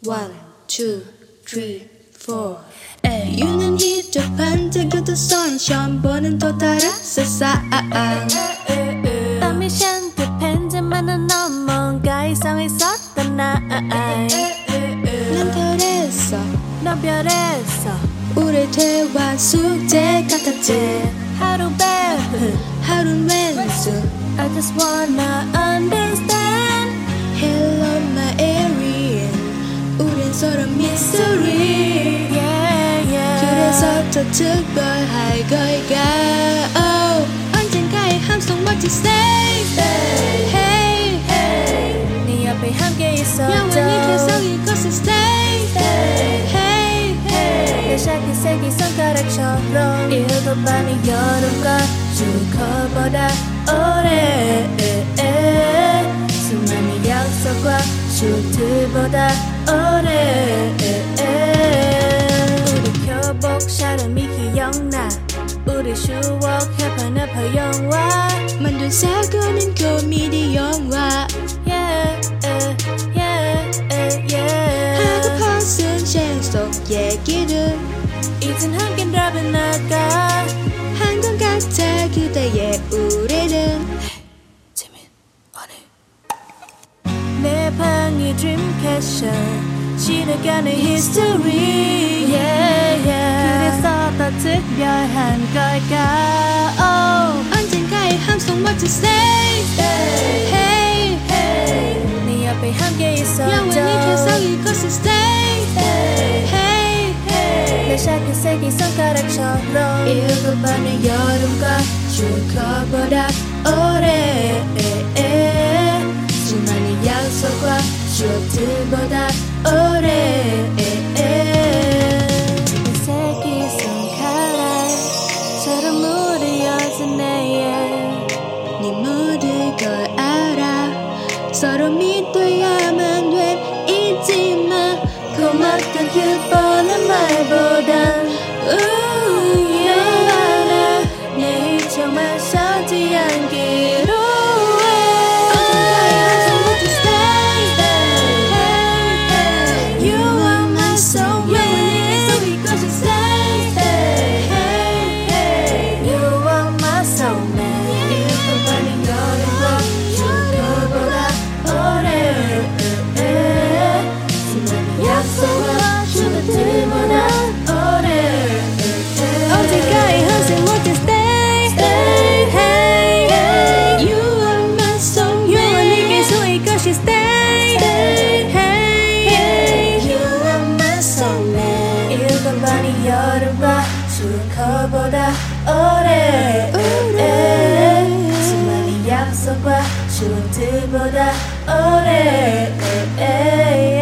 One, two, three, four. 유는 희접한 그 선션 보는 또 다른 세상. 땀이 샨듯한 넌 뭔가 이상했었던 날. 난 별에서 넌 별에서 우리 대화 숙제 같았지. 하루 배우 하루는 왼수. I just wanna understand. Hello my alien. 우린 서로 mystery. Yeah, yeah. 그래서 더 특별할 걸까. Oh, 언젠가의 함성 멋진 stay. Hey, hey. 네 옆에 함께 있어줘. 영원히 계속 이곳에 stay. Hey, hey. 내 샤키 색이 손가락처럼 읽어봐는 여름과 주커보다 오래. 수많은 약속과 슈트보다 오래. 우리 교복 샤름이 기억나. 우리 추억 해파나파 영화 만든 사고는 코미디 영화. Yeah, yeah, yeah. 하고픈 순간 속 얘기를 이젠 함께 드랍을 나가. 한 건 같아 그대의 우리는. 재민 언니 내 방이 드림캐션 지나가는 history. Yeah, yeah. 그래서 더 특별한 걸까. Oh. 언젠가의 함성 멋진 stay. Hey, hey. 네 옆에 함께 있어줘. 영원히 계속 이곳에 stay. Hey, hey. 내 샤키 색이 손가락처럼 읽어봐는 여름과 주커보다 오래. 수많은 약속과 슈트보다 오래. 내 색이 손가락처럼 무뎌진 내일. 네 모든 걸 알아. 서로 믿어야만 돼. 잊지 마. 고맙던 그 뻔한 말보단 너 알아 내일 정말 서지 않기로 해. You are my soulmate. You are my soulmate. 읽어봐는 여름과 주커보다 오래. 수많은 약속과 슈트보다 오래. 언제까지 항상 못해 stay. Hey, hey. You are my soulmate. 영원히 계속 이것이 stay. Hey, You are my soulmate. 읽어봐니 여름과 주커보다 오래. 수많은 약속과 슈트보다 오래.